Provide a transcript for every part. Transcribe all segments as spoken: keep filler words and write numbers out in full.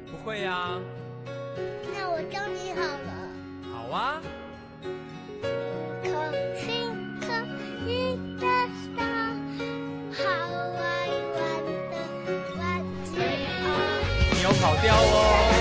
不会呀。 那我教你好了。 好啊。 Twinkle, little star, how I wonder what you are。 你有跑调哦。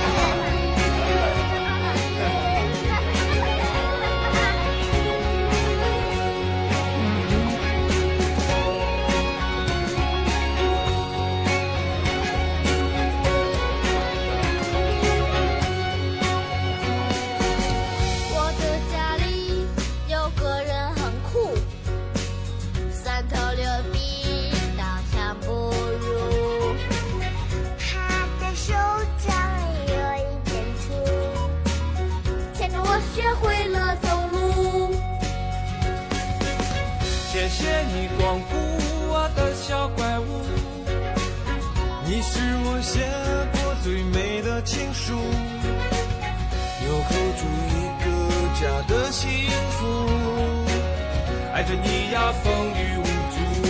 谢谢你光顾我的小怪物， 你是我写过最美的情书，又候住一个家的幸福， 爱着你呀风雨无阻。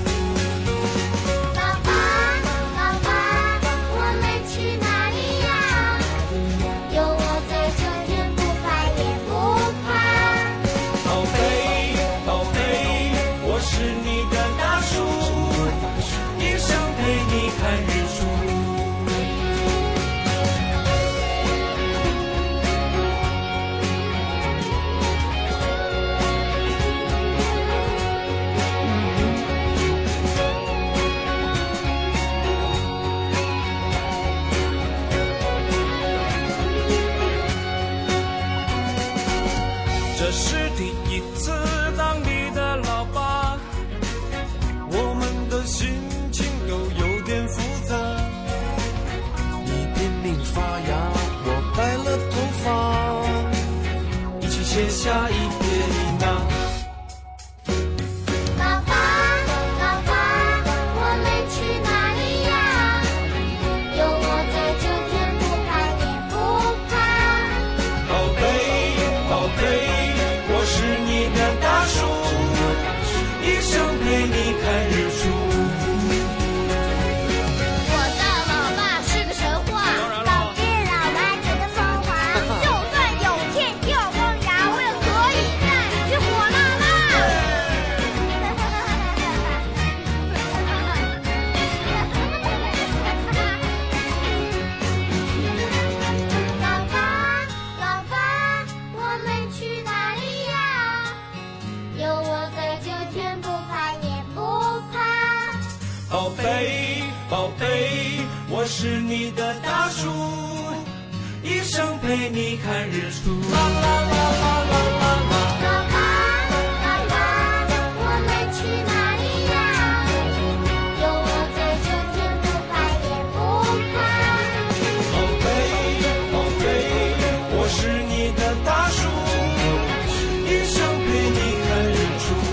爸爸爸爸，我们去哪里呀？有我在这天不怕也不怕。 宝贝宝贝，我是你的大树，一生陪你看日出。这是第一次当你的老爸， 我们的心情都有点复杂。你拼命发芽，我白了头发， 一起写下一撇一捺。 爸爸爸爸，我们去哪里呀？有我在这天不怕也不怕。 宝贝宝贝，我是你的大树，一生陪你看日出。 我的老爸是个神话，老爹老妈觉得风华。就算有天掉光牙，我也可以再去火辣辣。老爸老爸，我们去哪里呀？有我在这天不怕也不怕。 宝贝宝贝，我是你的大树，一生陪你看日出。啦啦啦啦啦啦啦。 爸爸爸爸，我们去哪里呀？有我在这天不怕也不怕。 宝贝宝贝，我是你的大树，一生陪你看日出。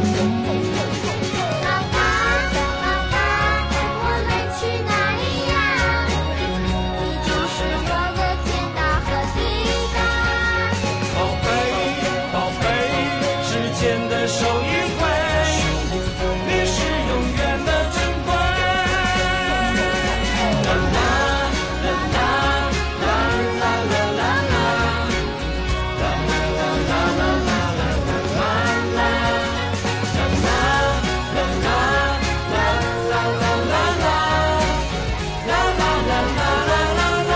爸爸爸爸，我们去哪里呀？你就是我的天大和地大。 宝贝宝贝，之间的手一挥，你是永远的珍贵。啦啦啦啦啦啦啦啦啦，啦啦啦啦啦啦啦啦啦，啦啦啦啦啦啦啦啦啦，啦啦啦啦啦啦。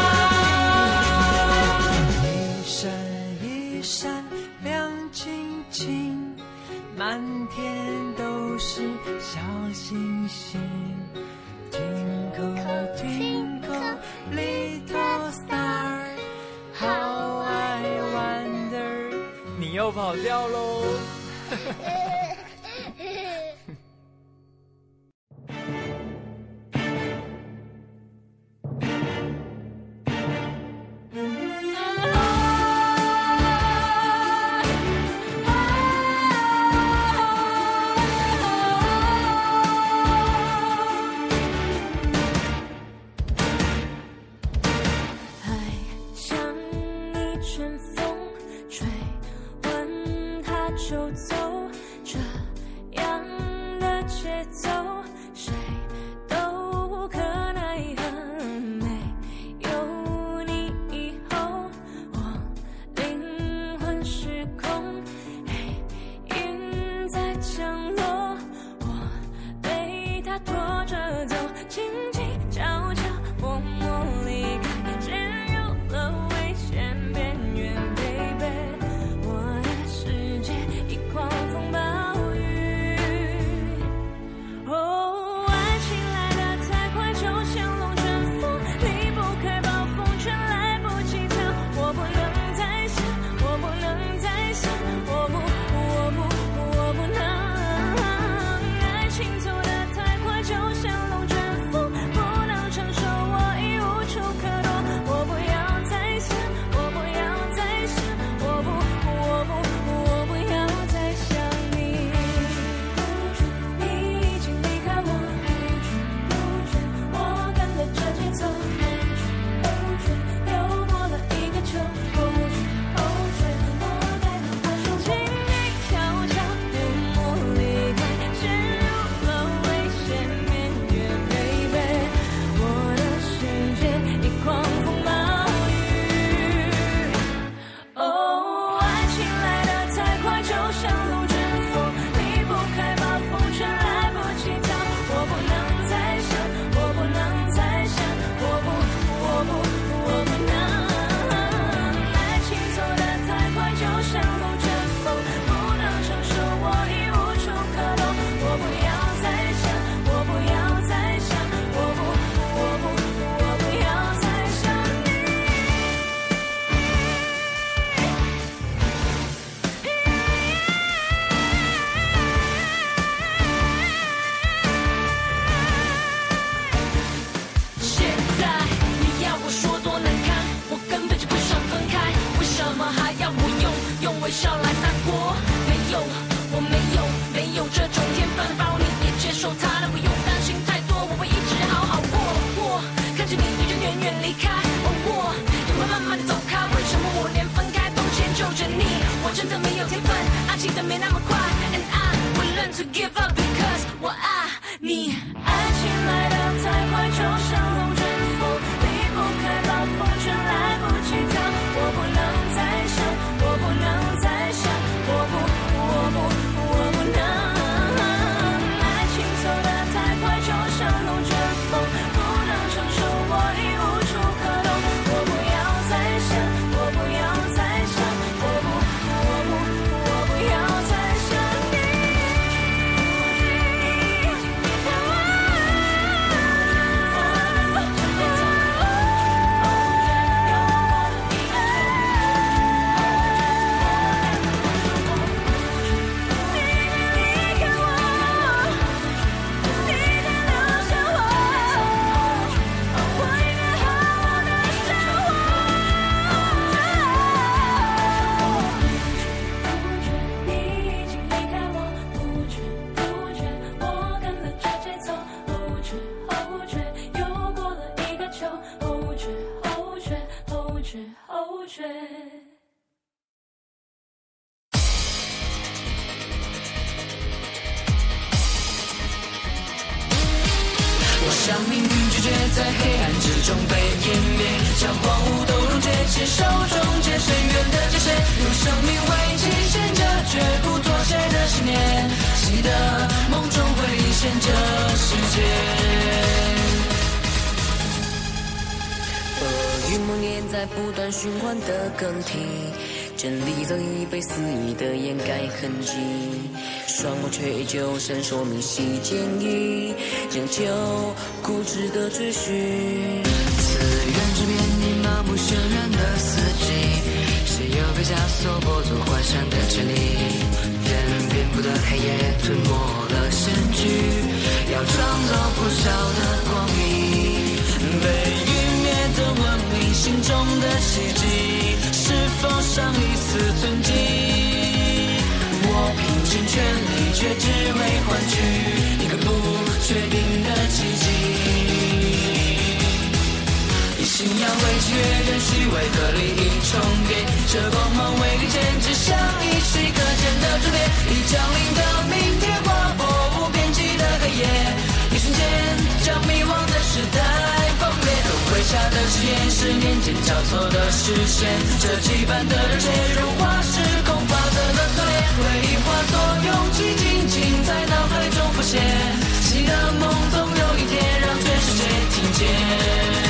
一闪一闪亮晶晶，满天都是小星星。Twinkle twinkle little star, how I wonder。 你又跑掉喽。 爱像一阵风，吹完它就走，这样的节奏谁都无可奈何。每微笑来散播。没有，我没有，没有这种天分，包你也接受它的，不用担心太多，我会一直好好过。我看着你一直远远离开，而我也会慢慢的走开。为什么我连分开都迁就着你？我真的没有天分，爱情的没那么快 ，and I will learn to give up because 我爱你。爱情来得太快，就像龙卷风，离不开暴风圈，来不及逃。我不能再想，我不能再想，我不，我不，我不能。爱情走得太快，就像龙卷风，不能承受，我已无处可躲。我不要再想，我不要再想，我不，我不，我不要再想你。我像命运拒绝在黑暗之中被湮灭，将荒芜都溶解，牵手终结深渊的界限，用生命为期限着绝不妥协的信念，记得梦中会离现这世界。 恶与梦魇在不断循环的更替，真理早已被肆意的掩盖痕迹，双目却依旧闪烁明晰坚毅，仍旧固执的追寻。此缘之边，你麻木渲染的四季，谁又被枷锁剥夺幻想的权利？人遍布的黑夜吞没了身躯，要创造破晓的光明。 被湮灭的文明，心中的奇迹，是否尚一丝存记？我拼尽全力，却只为换取一个不确定的奇迹。以信仰为契约，任虚伪和利益重叠，这光芒为利剑，指向一息可见的终点。已降临的明天，划破无边际的黑夜，一瞬间将迷惘的时代崩裂。轮回下的誓言，是年间交错的视线，这羁绊的热切，融化时空法则的锁链，回忆化作勇气，静静在脑海中浮现。记得梦总有一天让全世界听见。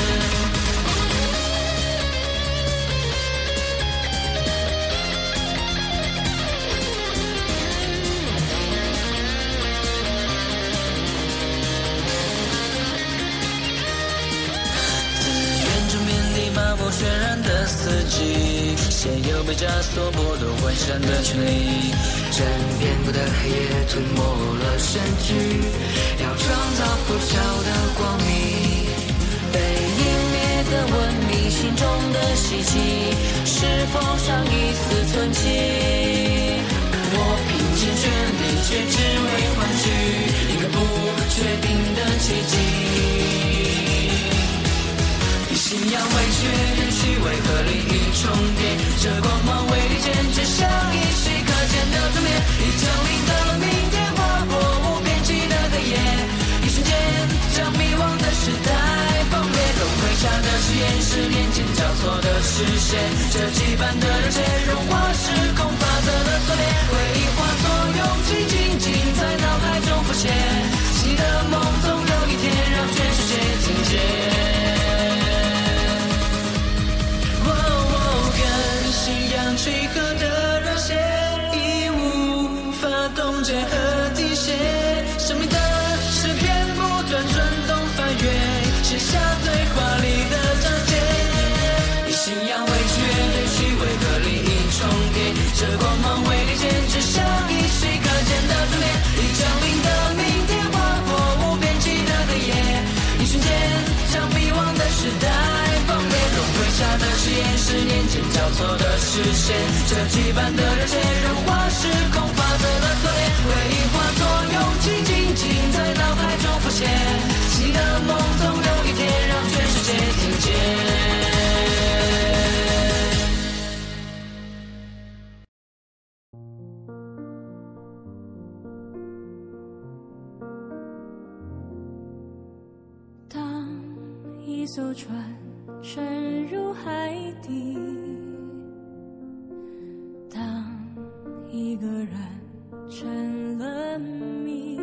渲染的四季，谁又被枷锁剥夺幻想的权利？ 真遍布的黑夜吞没了身躯，要创造破晓的光明。被湮灭的文明，心中的希冀，是否尚一丝存记？ 我拼尽全力，却只为换取一个不确定的奇迹。信仰为确认虚伪和利益重叠，这光芒为利剑，指向一息可见的终点。已降临的明天，划破无边际的黑夜，一瞬间将迷惘的时代崩裂。轮回下的誓言，是年间交错的视线，这羁绊的热切，融化时空法则的锁链，回忆化作勇气，静静在脑海中浮现。记得梦总有一天让全世界听见。契合的热线已无法冻结和停歇，生命的诗篇不断转动翻阅，写下最华丽的章节。以信仰为契约，任虚伪和利益重叠，这光芒为利剑，指向一息可见的终点。已降临的明天，划破无边际的黑夜，一瞬间将迷惘的时代崩裂。轮回下的誓言，是年间交错的视线，这羁绊一艘船沉入海底，当一个人成了谜，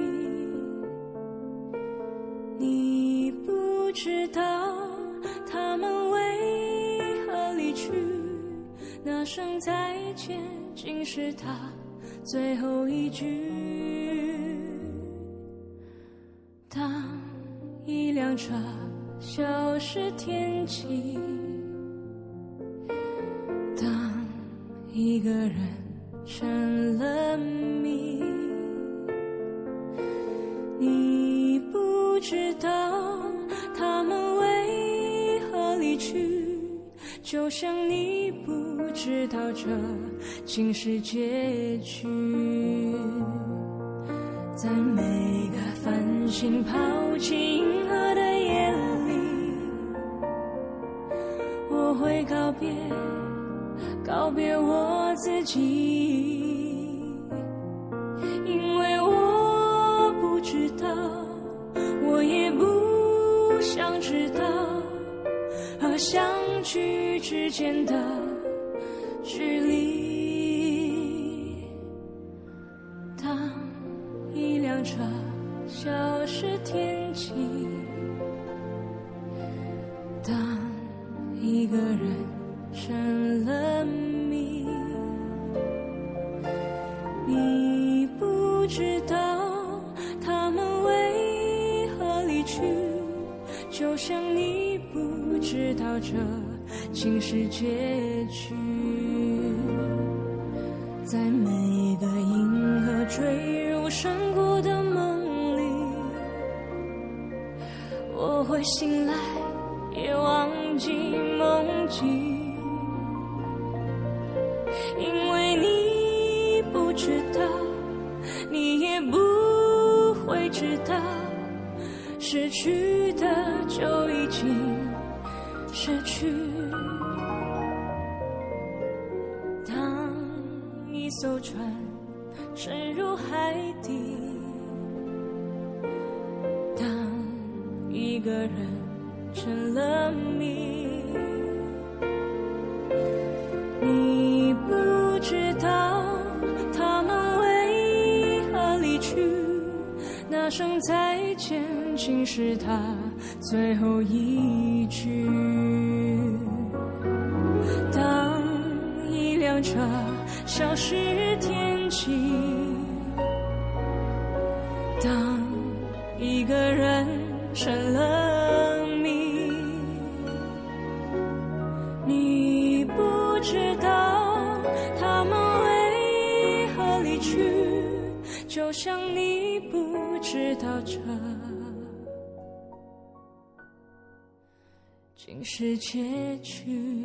你不知道他们为何离去，那声再见竟是他最后一句。当一辆车消失天际，当一个人成了谜，你不知道他们为何离去，就像你不知道这竟是结局。在每个繁星抛弃银河的夜里，我会告别告别我自己，因为我不知道，我也不想知道和相聚之间的距离。当一辆车消失天际，当一个人成了谜，你不知道他们为何离去，就像你不知道这竟是结局。在每个银河坠入山谷的梦里，我会醒来也忘记梦境，因为你不知道，你也不会知道，失去的就已经失去。当一艘船沉入海底，当一个人成了谜，你不知道他们为何离去，那声再见竟是他最后一句。当一辆车消失天际，当一个人成了谜，你不知道他们为何离去，就像你不知道这竟是结局。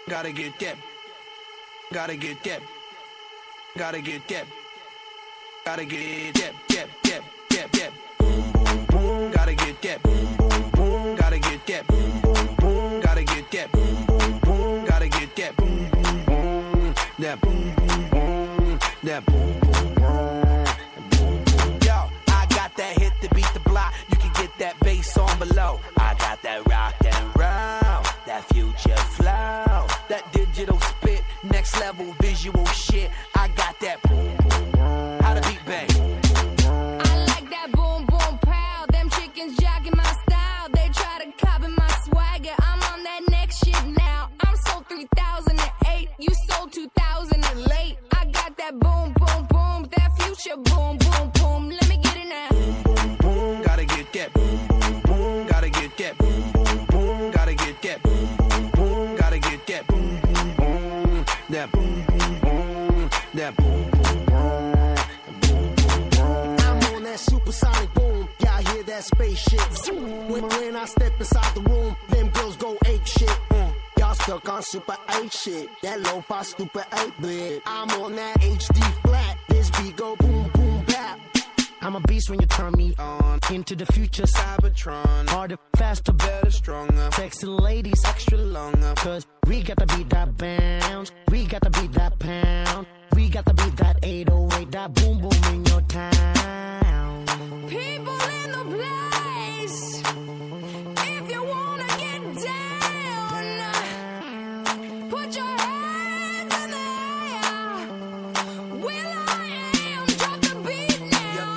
Gotta get that. Gotta get that. Gotta get that. Gotta get that. That. That. That. That. Boom boom boom. Gotta get that. Boom boom boom. Gotta get that. Boom boom boom. Gotta get that. Boom boom boom. Gotta get that. Boom boom boom. That boom boom boom. That boom boom boom. Yo, I got that hit to beat the block. You can get that bass on below. I got that rock and roll, that future flow, that digital spit, next level visual shit. I got that boom boom boom. How the beat bang? I like that boom boom pow. Them chickens jogging my style. They try to copy my swagger. I'm on that next shit now. I'm sold three thousand eight. You sold two thousand late. I got that boom boom boom. That future boom boom boom. Let me get it now. Boom boom boom. Gotta get that. Boom boom boom. Gotta get that. Boom boom boom. Gotta get that. Boom boom boom. Gotta get that. Boom boom boom. That boom boom boom. That boom boom boom. Boom boom boom. I'm on that supersonic boom. Y'all hear that spaceship? When, when I step inside the room, them girls go ape shit. Mm. Y'all stuck on super eight shit. That lo-fi stupid eight bit. I'm on that H D flat. This beat go boom boom bap. I'm a beast when you turn me on. Into the future, Cybertron. Harder, faster, better, stronger. Sexy ladies, extra longer. Cause we got to beat that bounce. We got to beat that pound. We got to beat that eight oh eight. That boom boom in your town. People in the place. If you wanna get down, put your hands in the air. Will I am, drop the beat now.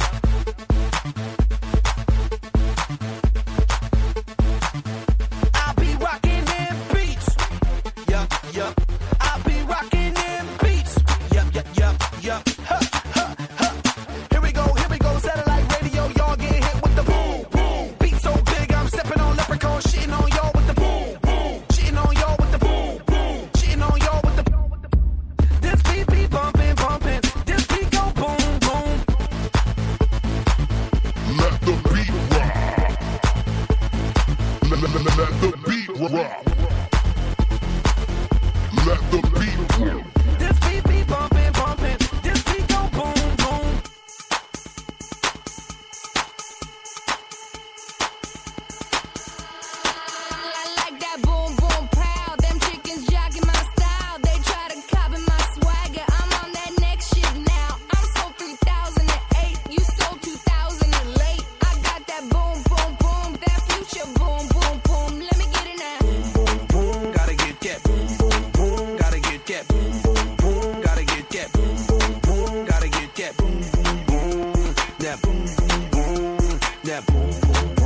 I be rocking them beats. Yup, yup. I be rocking them beats. Yup, yup, yup, yup. Huh, huh, huh. Here we go, here we go. Satellite radio, y'all get hit with the boom, boom. Beat so big, I'm stepping on leprechaun, shitting on y'all with the boom, boom. Shitting on y'all with the boom, boom. Shitting on y'all with the. This beat be bumping, bumping. This beat go boom, boom. Let the beat rock. Let, let, let, let the beat rock. Let the beat rock. This beat be bumping, bumping. This beat go boom, boom. I like that boom boom pow. Them chickens jogging my style. They try to copy my swagger. I'm on that next shit now. I'm sold three thousand eight. You sold two thousand late. I got that boom boom boom. That future boom boom boom. Let me get it now. Boom, boom, gotta get that. Boom, boom, boom, gotta get that. Boom, boom, boom, gotta get that. Boom, boom, boom, gotta get that. Boom, boom, boom, that boom, boom, boom, that boom, boom, boom.